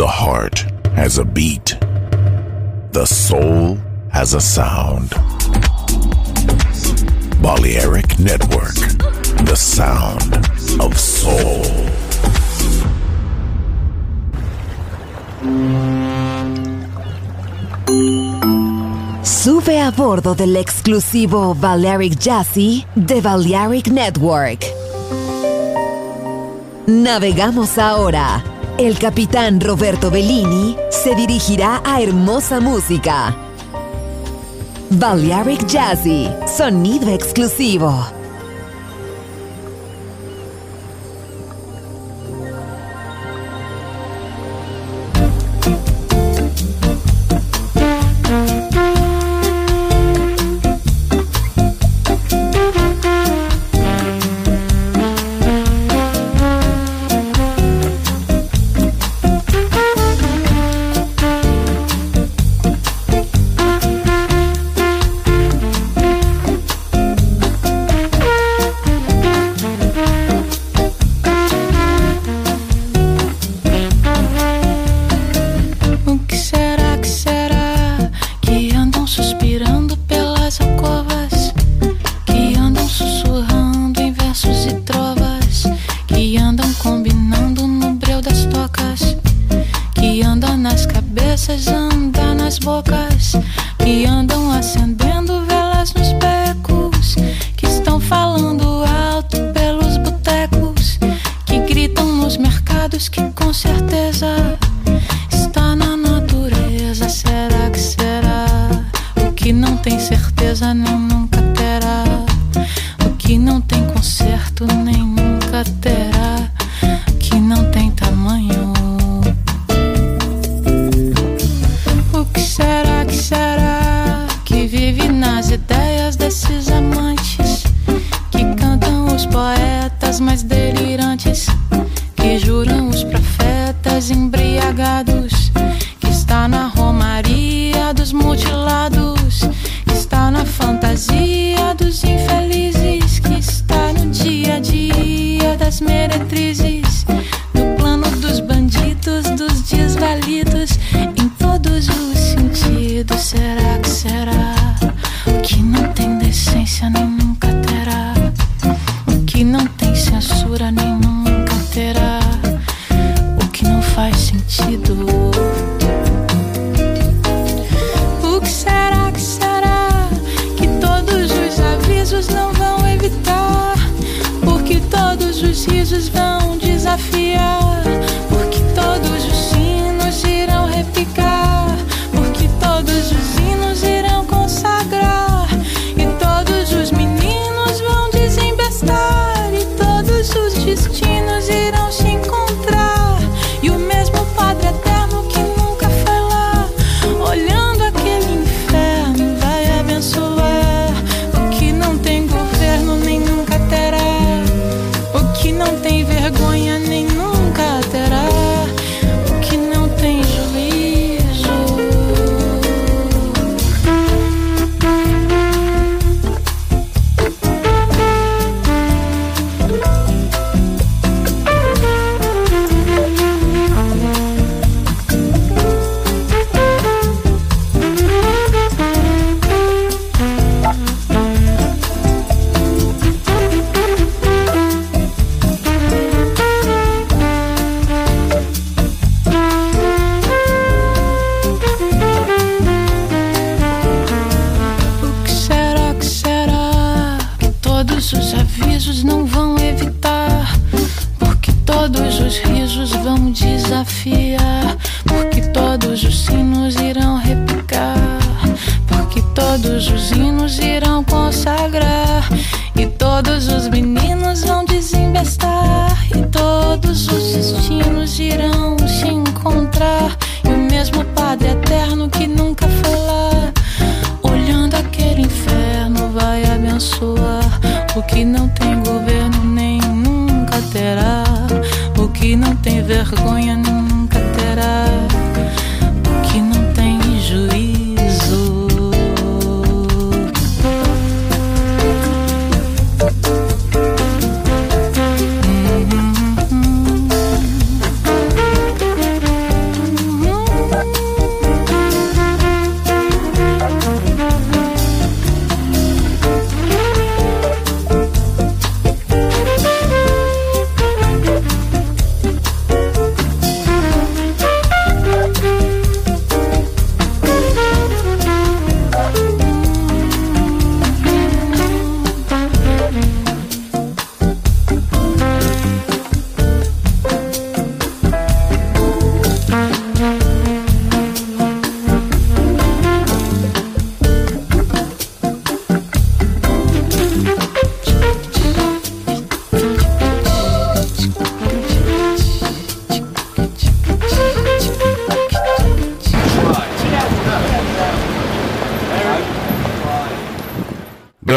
The heart has a beat. The soul has a sound. Balearic Network, the sound of soul. Sube a bordo del exclusivo Balearic Jazzy de Balearic Network. Navegamos ahora. El capitán Roberto Bellini se dirigirá a hermosa música. Balearic Jazzy, sonido exclusivo.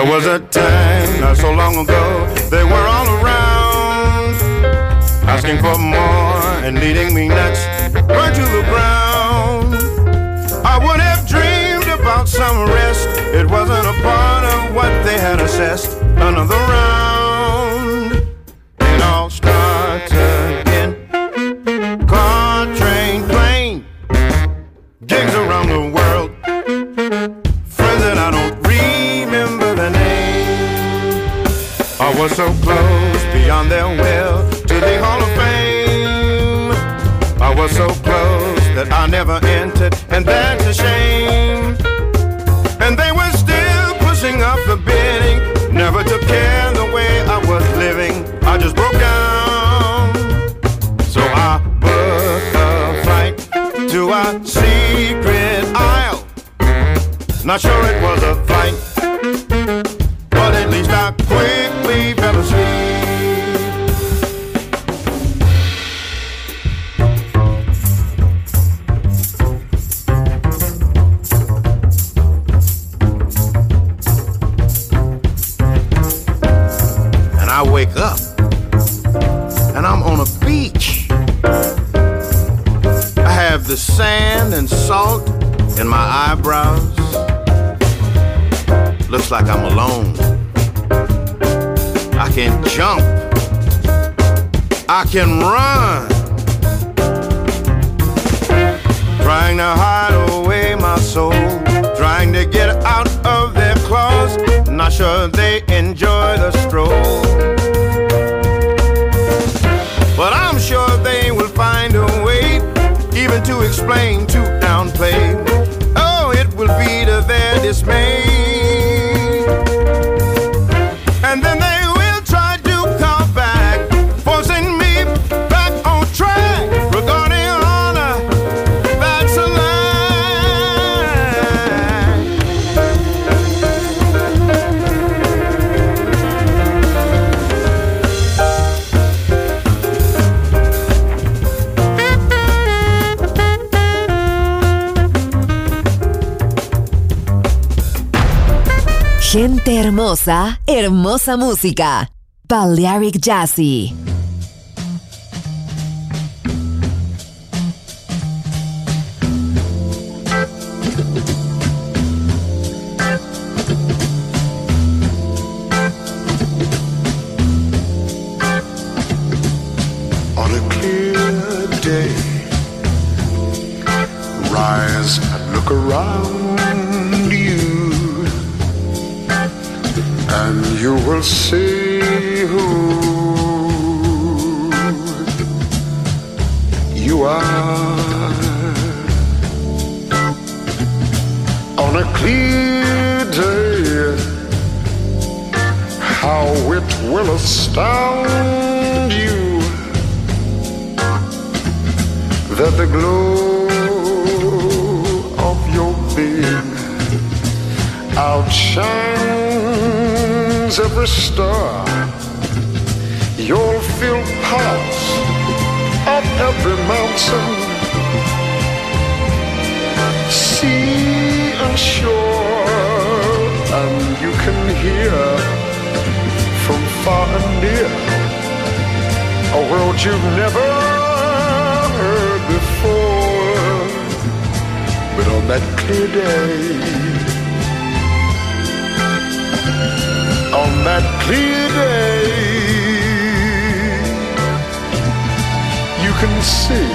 was a time not so long ago, they were all around, asking for more and leading me nuts, right to the ground. I would have dreamed about some rest, it wasn't a part of what they had assessed. Another round, it all starts again. Car, train, plane, gigs around the world, friends that I don't remember their name. I was so close beyond their will to the Hall of Fame. I was so close that I never entered, and that's a shame. And they were still pushing up the bidding, never took care the way I was living. I just broke down, so I booked a flight to a secret isle. Not sure it was a flight, but at least I quickly fell asleep. And I wake up, and I'm on a beach. I have the sand and salt in my eyebrows. Looks like I'm alone. I can jump, I can run, trying to hide away my soul, trying to get out of their claws. Not sure they enjoy the stroll, but I'm sure they will find a way, even to explain, to downplay. Oh, it will be to their dismay. And then they will try to come back, forcing me back on track. Regarding honor, that's a lie. Gente hermosa, hermosa música. Balearic Jazzy. On a clear day, rise and look around you, and you will see who you are. On a clear day, how it will astound you that the glow of your being outshines every star. You'll feel parts of every mountain, sea and shore, and you can hear from far and near a world you've never heard before. But on that clear day, on that clear day, you can see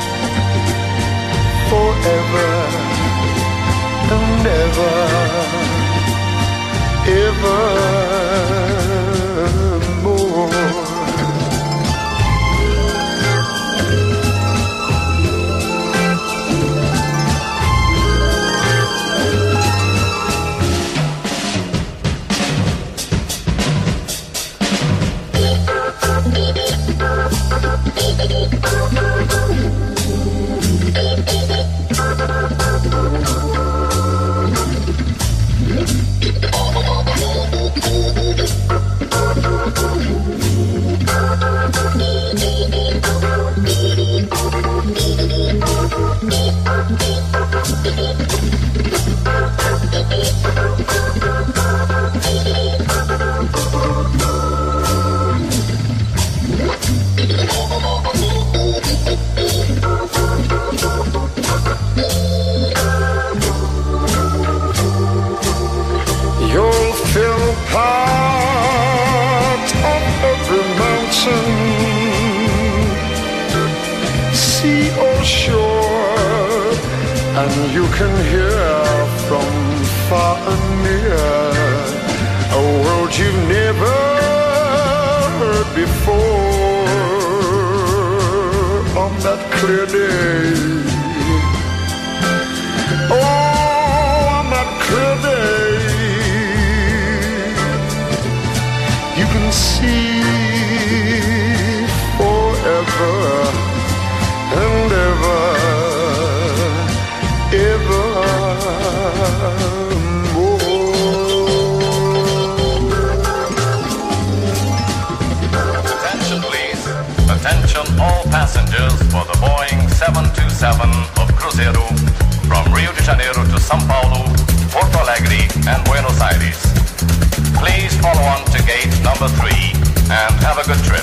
forever and ever, evermore. You'll feel part of every mountain, sea or shore, and you can hear from far and near a world you've never heard before on that clear day. Oh, on that clear day, you can see forever and ever, evermore. Attention please, attention all passengers for the Boeing 727 of Cruzeiro from Rio de Janeiro to São Paulo, Porto Alegre and Buenos Aires. Please follow on to gate number 3 and have a good trip.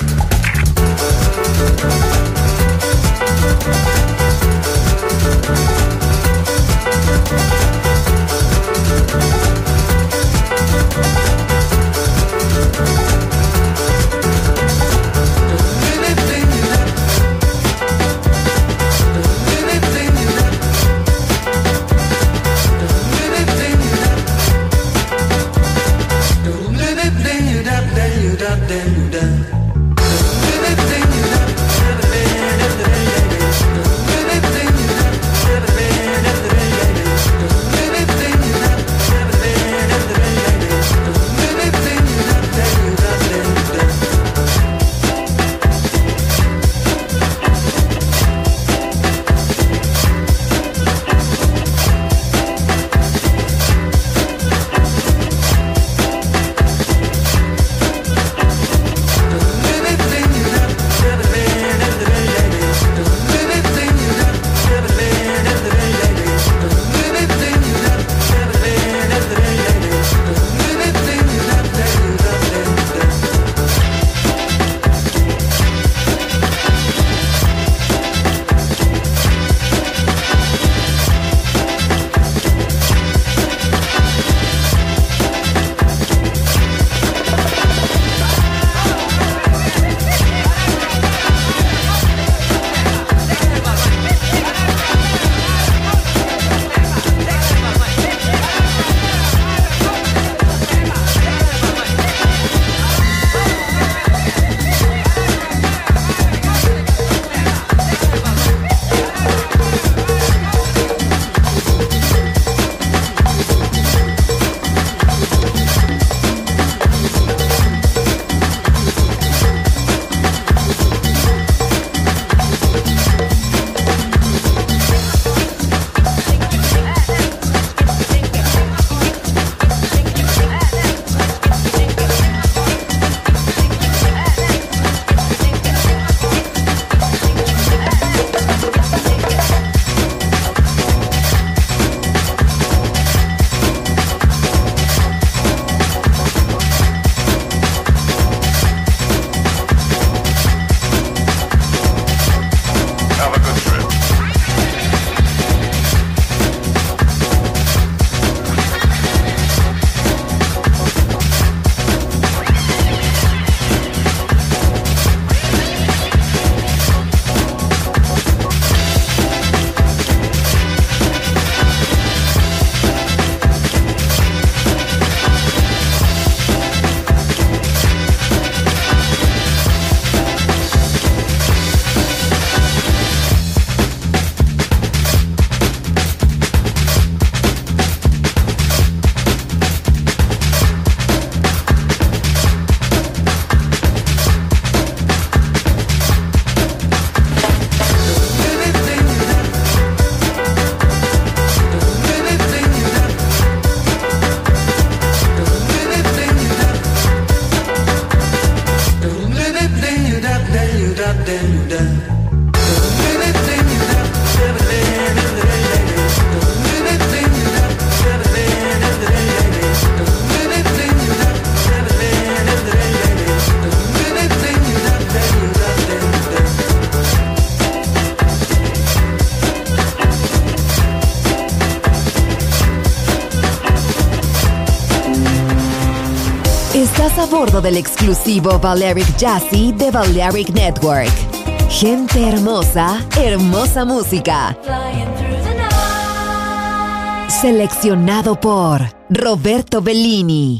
a bordo del exclusivo Balearic Jazzy de Balearic Network. Gente hermosa, hermosa música. Seleccionado por Roberto Bellini.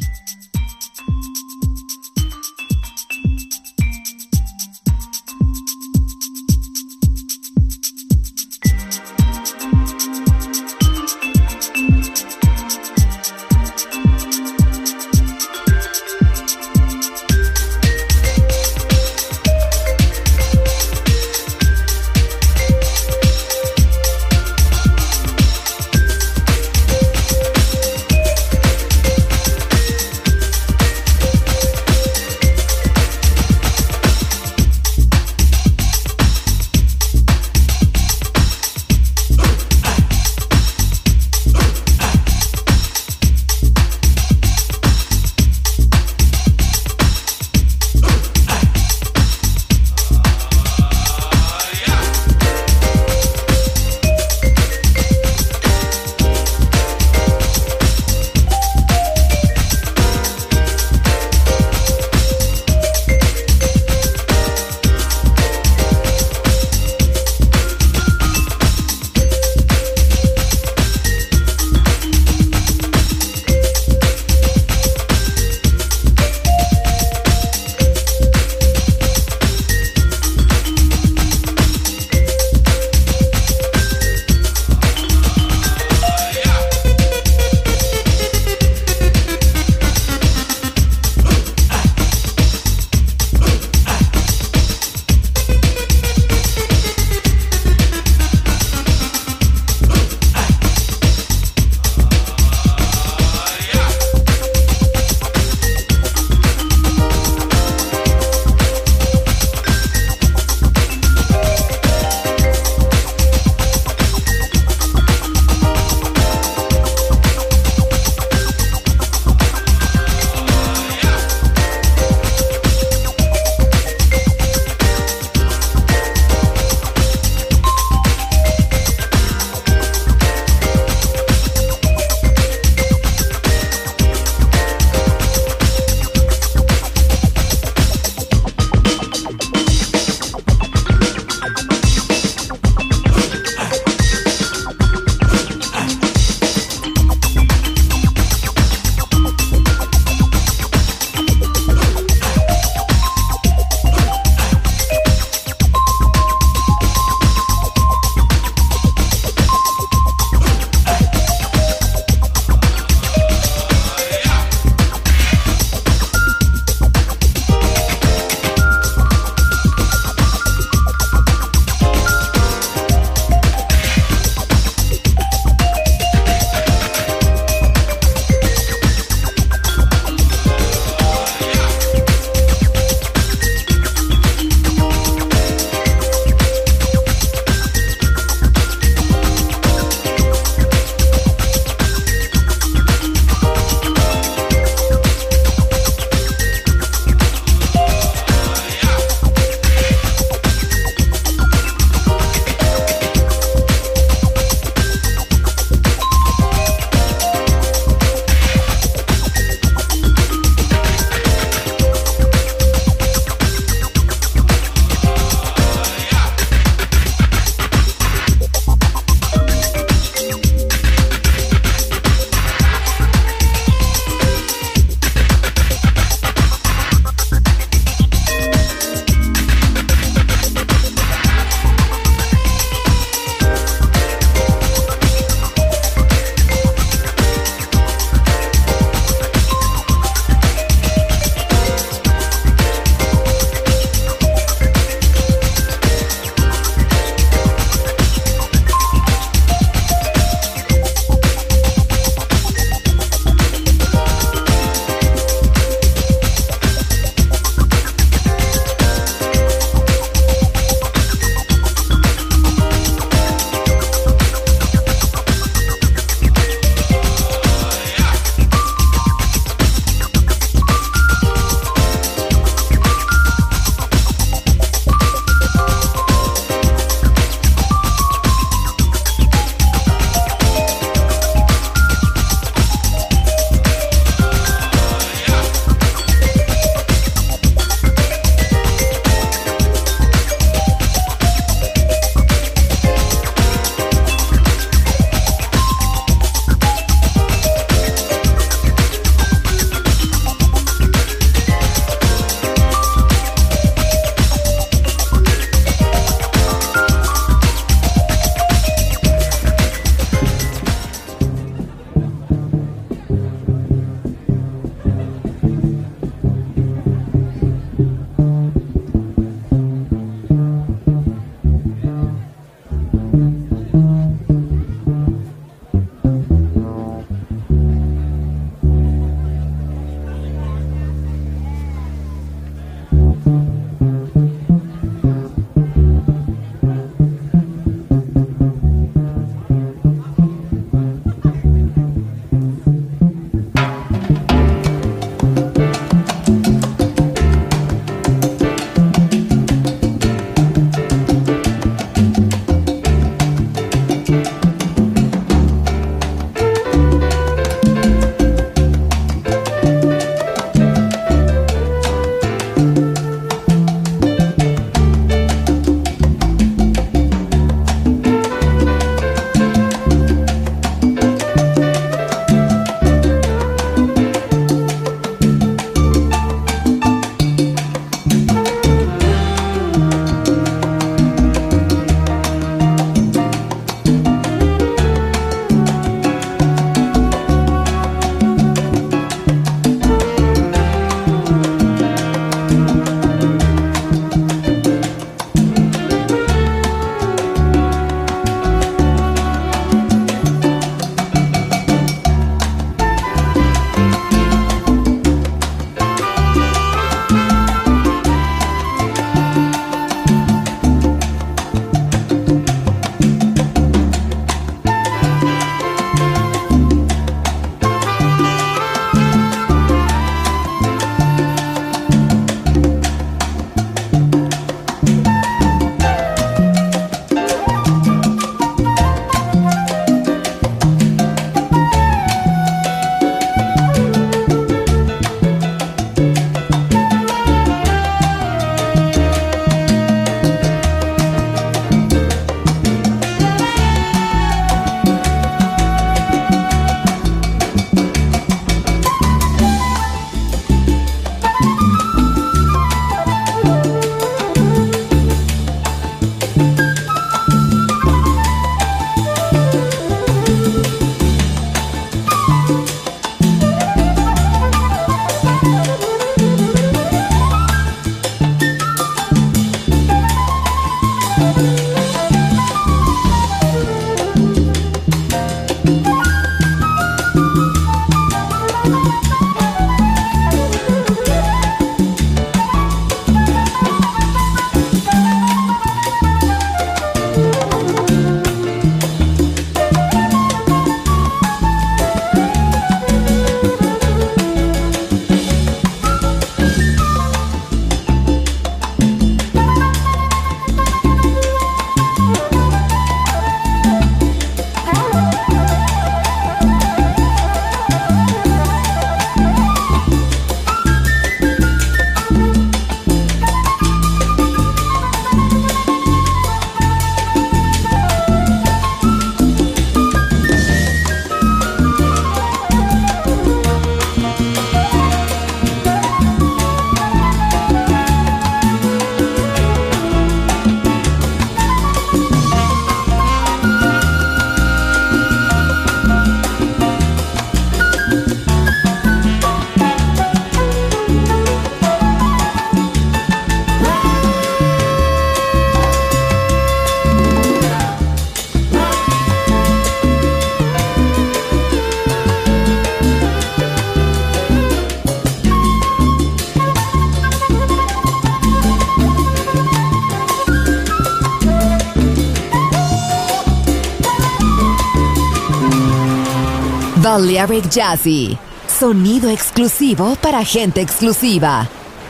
Balearic Jazzy, sonido exclusivo para gente exclusiva.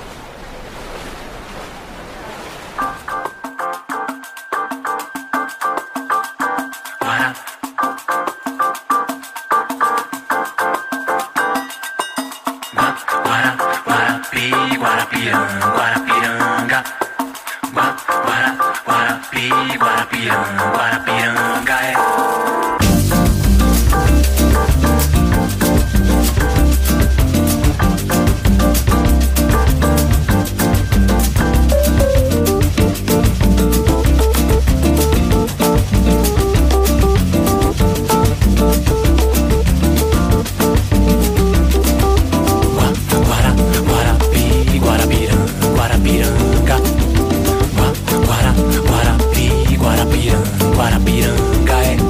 Guarapiranga, Guarapiranga, Guarapiranga,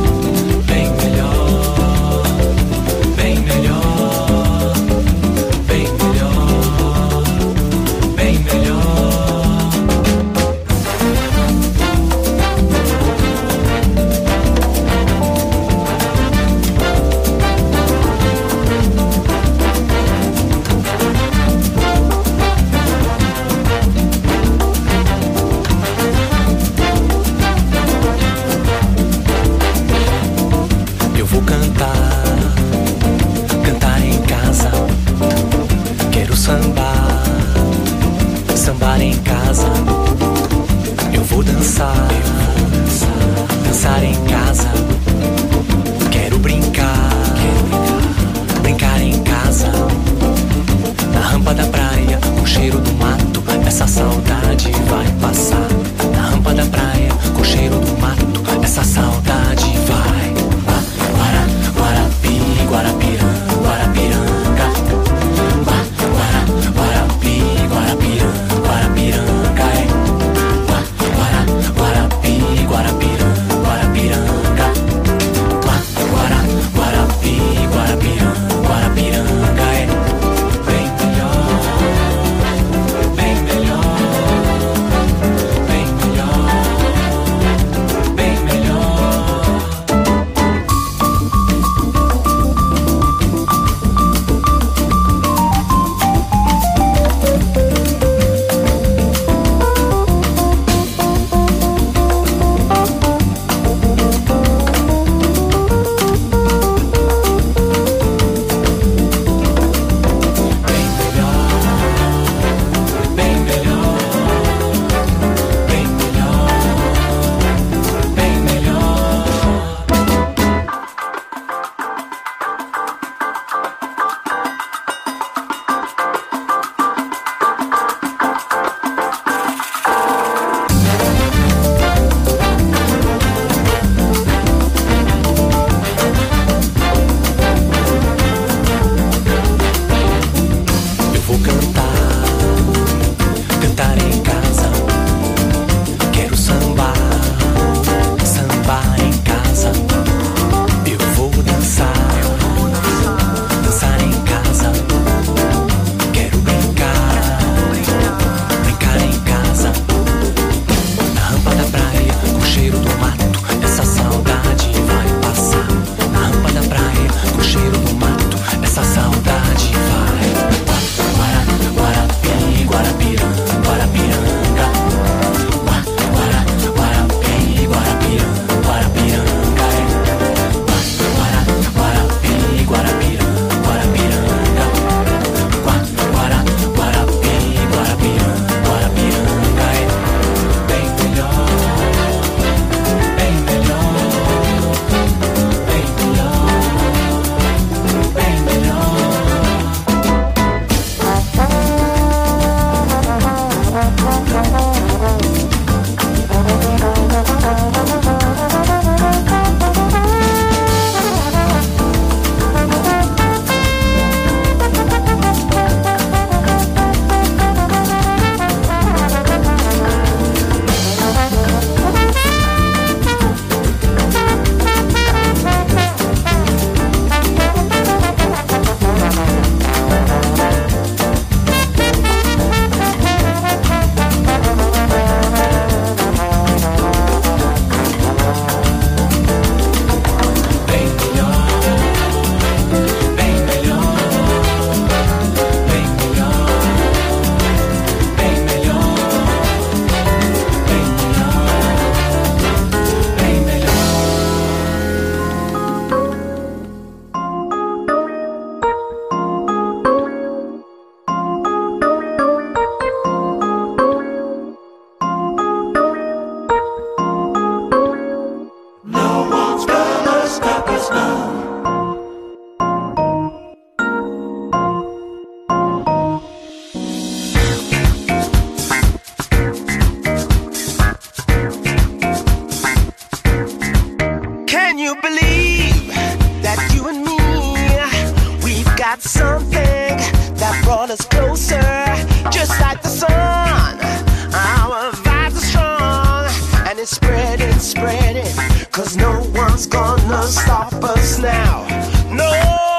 it's spreading, spreading, 'cause no one's gonna stop us now. No,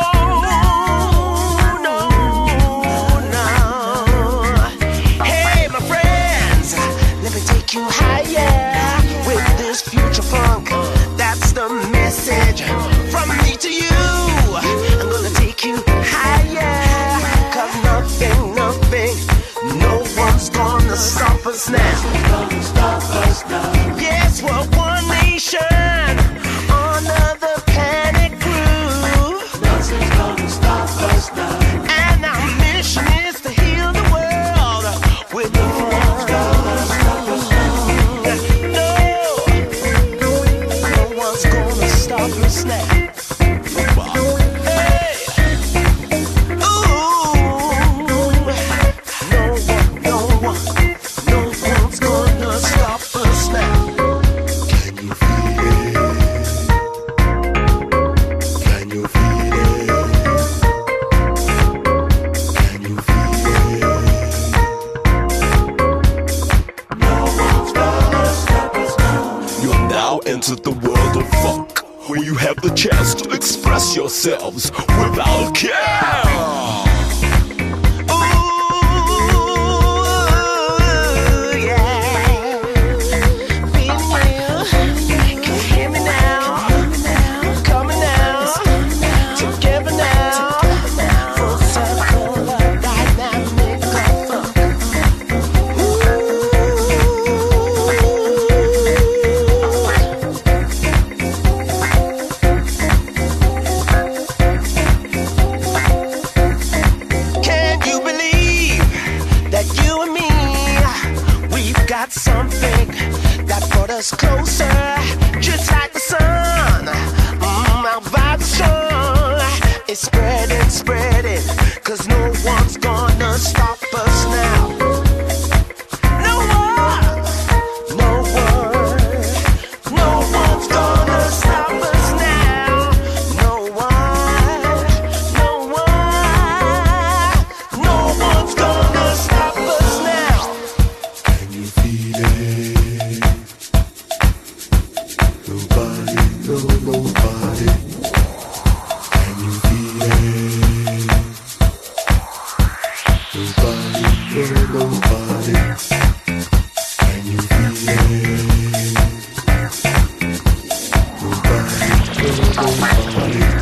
no, no. Hey, my friends, let me take you higher with this future funk. That's the message from me to you. I'm gonna take you higher, 'cause nothing, no one's gonna stop us now. Yes, we're one nation under the panic groove. Nothing's gonna stop us now. And our mission is to heal the world with the funk. No one's gonna stop us now. Into the world of funk, where you have the chance to express yourselves without care. Something that brought us closer, just like the sun. Our vibes strong. It's spreading, spreading, 'cause no one's gonna stop us now. No one's gonna stop us now. No one's gonna stop us now. Can you feel it? Nobody, nobody. Can you feel it? Nobody, nobody. Can you feel it? Nobody, nobody.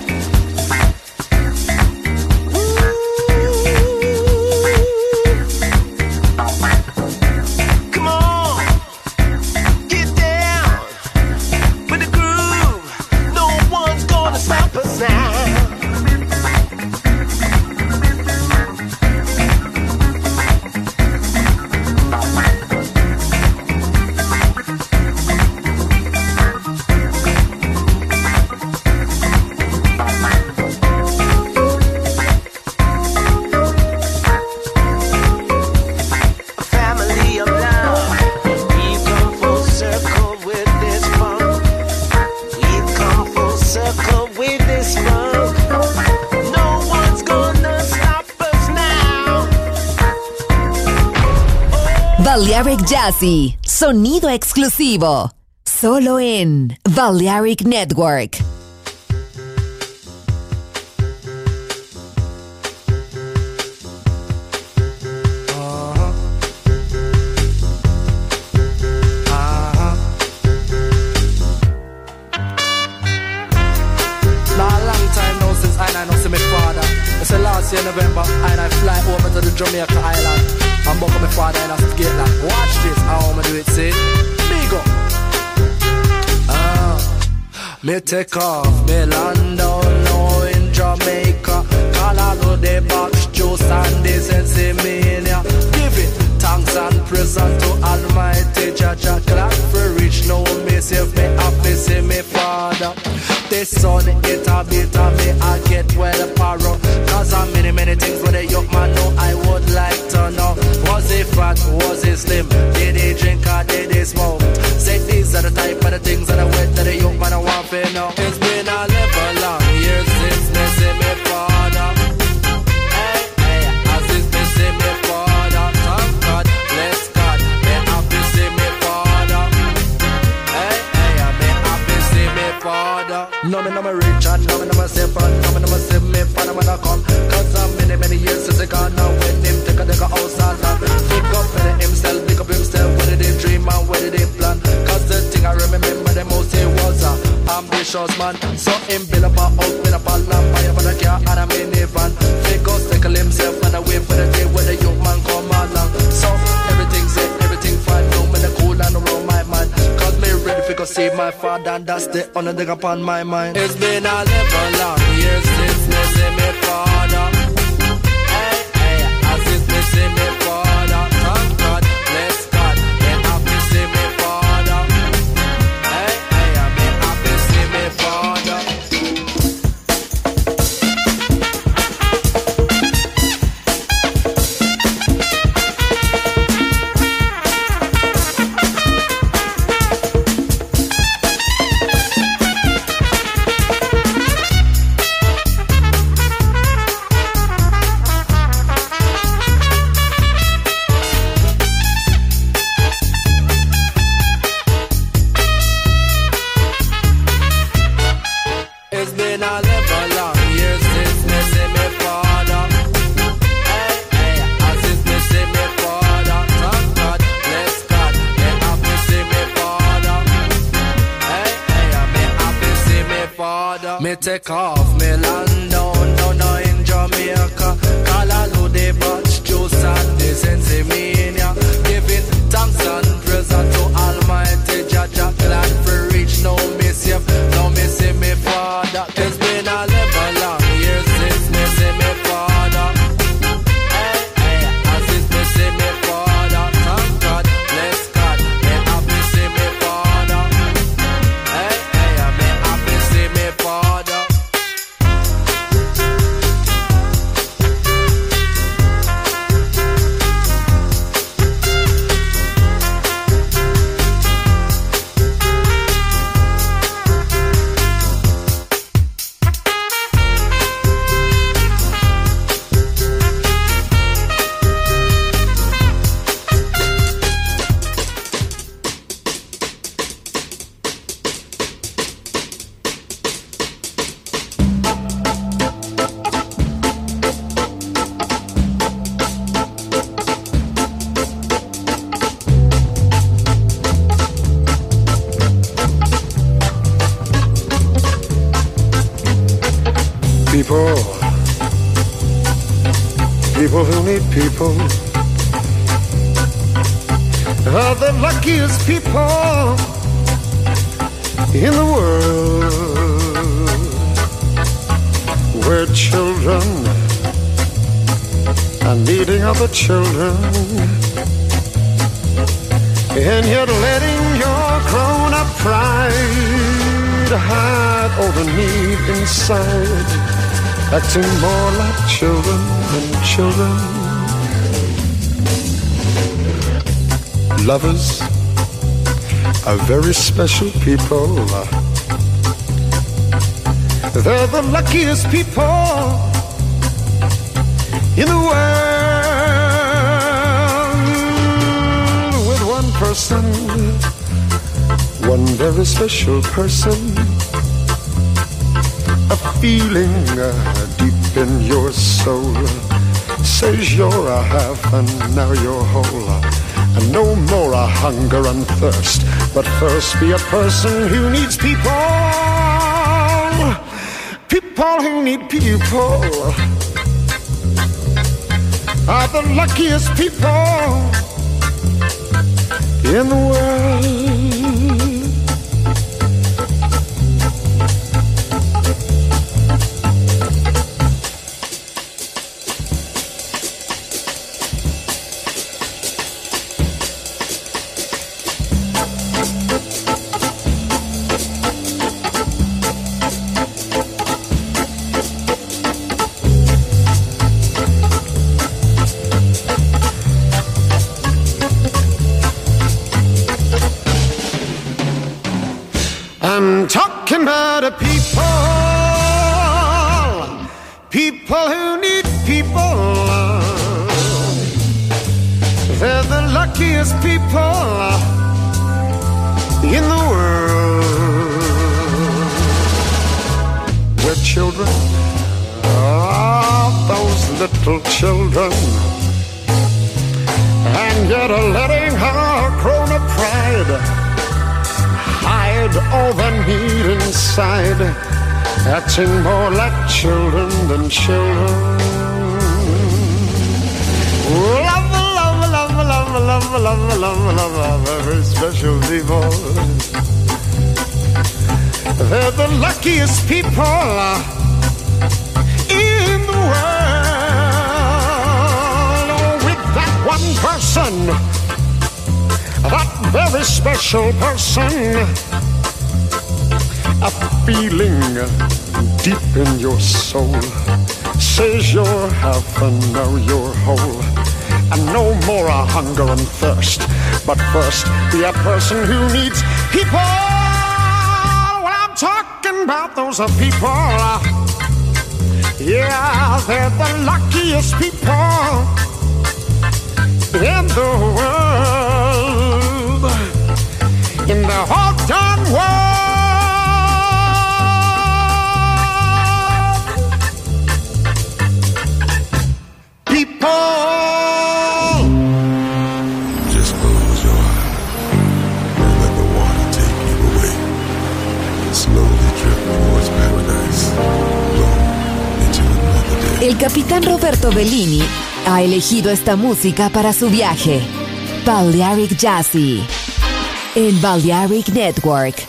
Balearic Jazzy, sonido exclusivo, solo en Balearic Network. Last year November, and I fly over to the Jamaica Island and buck up my father and I get like, watch this, how I'ma do it, see? Big up. Me take off, me land down now in Jamaica. Call out the box, juice and this and see me in ya. Give it thanks and praise to Almighty Jah. Clap for rich, now me save me happy, see me father. The sun, it a bit of me, I get well apparel. Cause I'm many things with a young man know I would like to know. Was he fat, was he slim? Did he drink or did he smoke? Say these are the type of the things that I went that the young man I want to know. It's been a level long years since me see me father. Hey, as since me see me father. Thank God, bless God, me happy see me father. No, me no me rich and no me no me safe and no me no me save me for the man come. Cause many years since they gone now when him take a house and land. Pick up himself, pick up himself. What did he dream and what did he plan? Cause the thing I remember the most he was a ambitious man. So him build up a house, build up a land, buy up a car and a minivan. Pick up, tackle himself and a wait for the day when the young man come along. So everything set, everything fine. No me the cool and around my mind. Cause me ready to go save my father and that's the only thing upon my mind. It's been a little long years since me see me father. Hey, hey, as if me see me father. Thank God, bless God, me happy see me father. Hey, hey, me happy see me father. Me take off, me land down in Jamaica. Call all of the batch juice and the sensimania. Giving thanks and praise to Almighty Jah. Glad for reach no me safe, no me see me father. It's been a level long years since me see me father. Hey, hey, as if me see me father. Thank God, bless God, me happy see me father. Hey, hey, me happy see me father. People who need people are the luckiest people in the world. Where children are needing other children, and yet letting your grown-up pride hide all the need inside, acting more like children than children. Lovers are very special people. They're the luckiest people in the world. With one person, one very special person, a feeling deep in your soul says you're a half and now you're whole. And no more a hunger and thirst, but first be a person who needs people. People who need people are the luckiest people in the world. I'm talking about a people who need people. They're the luckiest people in the world. those little children, and yet letting her crone of pride hide all the need inside, acting more like children than children. Love, love, love, love, love, love, love, love, very special people. They're the luckiest people in the world. With that one person, that very special person, a feeling deep in your soul says you're half and now you're whole. And no more a hunger and thirst, but first be a person who needs people. Well, I'm talking about those people. Yeah, they're the luckiest people in the world, in the whole darn world. People. Just close your eyes and let the water take you away. Slowly drift towards paradise. Blow into another day. El capitán Roberto Bellini ha elegido esta música para su viaje. Balearic Jazzy en Balearic Network.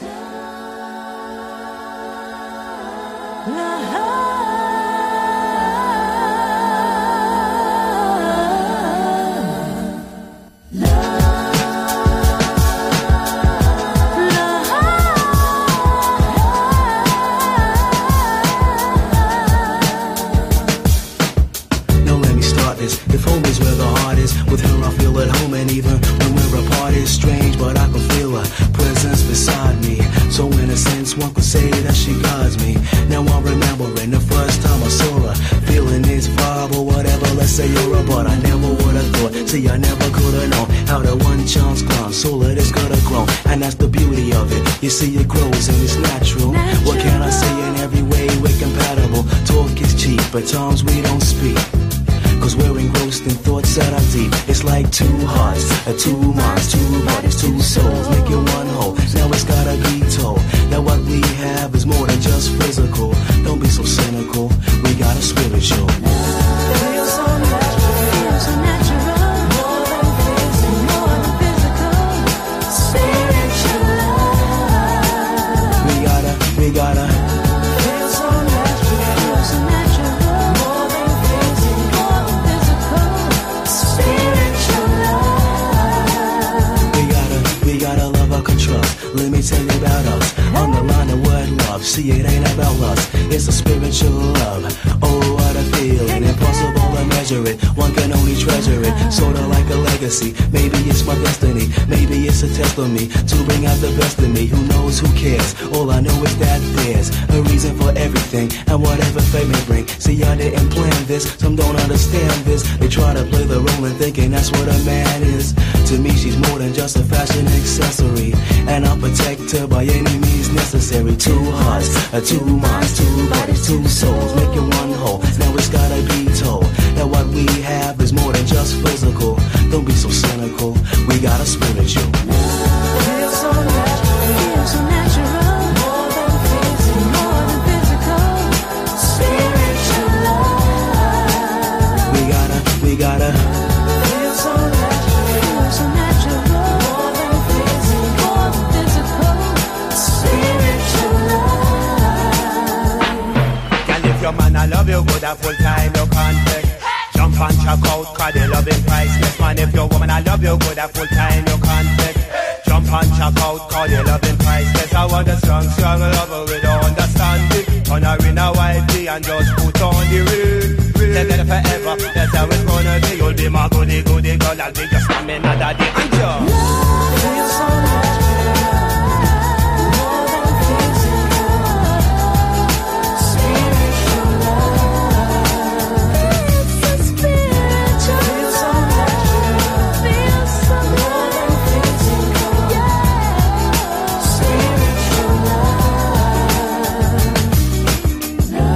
You see it grows and it's natural. What can I say? In every way we're compatible. Talk is cheap, but times we don't speak. Cause we're engrossed in thoughts that are deep. It's like two hearts, two minds, two bodies, two souls, making one whole. Now it's gotta be told that what we have is more than just physical. Don't be so cynical, we got a spiritual. Feels so natural, feels so natural. More than physical, more than physical. Spiritual love. We gotta feel so natural, feel so natural. More than physical, spiritual love. We gotta love our control. Let me tell you about us. Underline the word love. See, it ain't about lust. It's a spiritual love. Oh, what a feeling. Impossible to measure it. One can only treasure it. Sorta like a legacy. Maybe it's my destiny. Maybe it's a test of me to bring out the best in me. Who knows? Who cares? All I know is that there's a reason for everything, and whatever fate may bring. See, I didn't plan this. Some don't understand this. They try to play the role and thinking that's what a man is. To me, she's more than just a fashion accessory, and I'll protect her by any means necessary. Two hearts, two minds, two bodies, two souls, making one whole. Now it's gotta be told that what we have is more than just physical. Don't be so cynical, we got a spiritual. Feels so natural, feels so natural. More than physical, more than physical. Spiritual love. We gotta feel so natural, feel so natural. More than physical, more than physical. Spiritual love. Girl, if your man I love you good a full time you can't take. Jump and check out, cause the loving priceless. Man, if your woman I love you good a full time you can't take. Jump and check out, cause the loving priceless. I want a strong, strong lover with understanding. Turn her in a wifey and just put on the ring. Together forever, that's how it's gonna be. You'll be my goody, goody girl, I'll be your stamina daddy and your love feels so natural. More than physical. Spiritual love. It's a spiritual. Feels so natural. Feels so more than physical. Yeah. Spiritual love.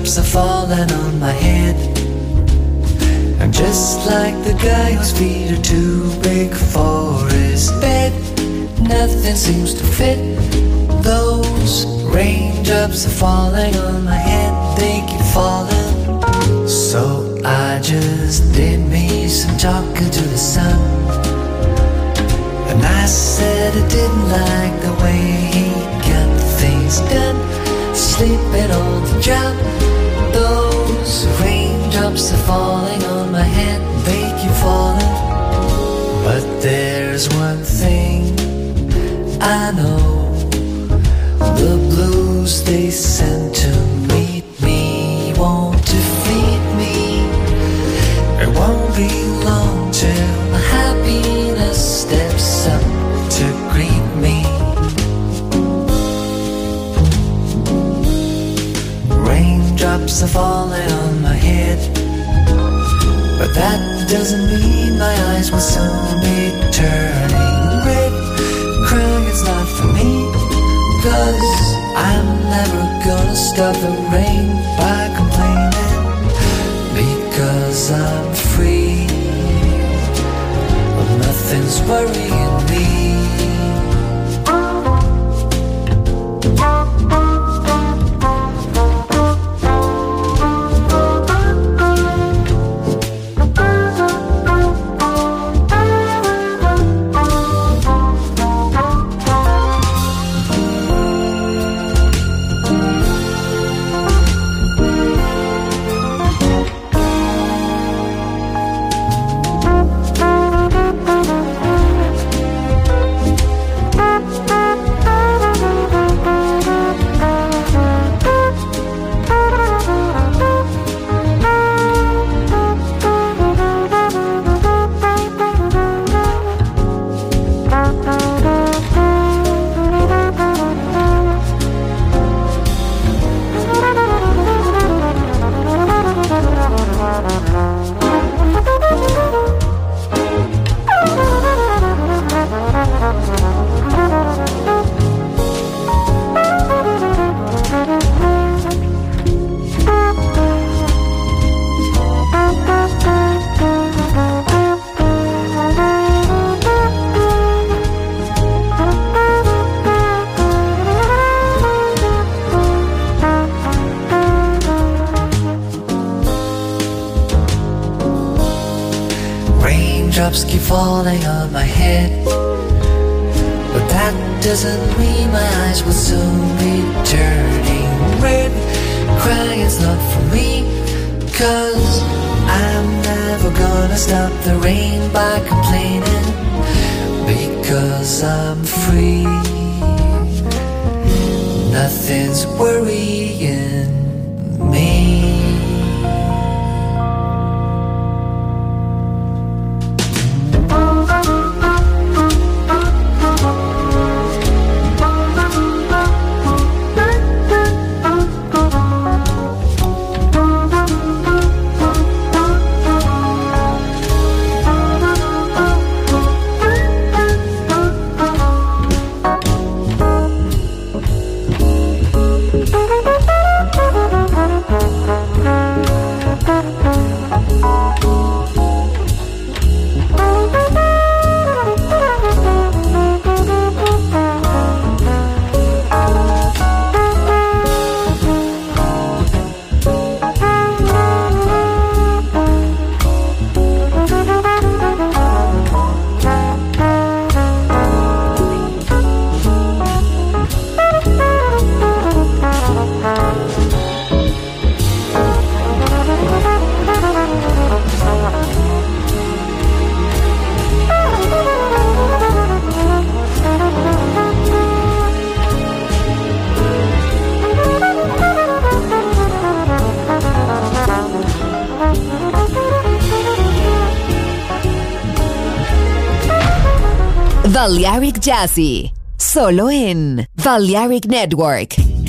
Raindrops are falling on my head, and just like the guy whose feet are too big for his bed, nothing seems to fit. Those raindrops are falling on my head, they keep falling. So I just did me some talking to the sun, and I said I didn't like the way he got things done, sleeping on the job. Those raindrops are falling on my head, they keep falling. But there's one thing I know, the blues they send to meet me won't defeat me. It won't be long till the happiness steps up to greet me. Raindrops are falling on my head, but that doesn't mean my eyes will soon be turning red. Crying's not for me, 'cause I'm never gonna stop the rain by complaining, because I'm free. Well, nothing's worrying me. Raindrops keep falling on my head, but that doesn't mean my eyes will soon be turning red. Crying's not for me, 'cause I'm never gonna stop the rain by complaining, because I'm free. Nothing's worrying me. Balearic Jazzy, solo en Balearic Network.